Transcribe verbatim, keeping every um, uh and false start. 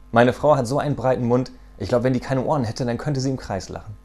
Meine Frau hat so einen breiten Mund. Ich glaube, wenn die keine Ohren hätte, dann könnte sie im Kreis lachen.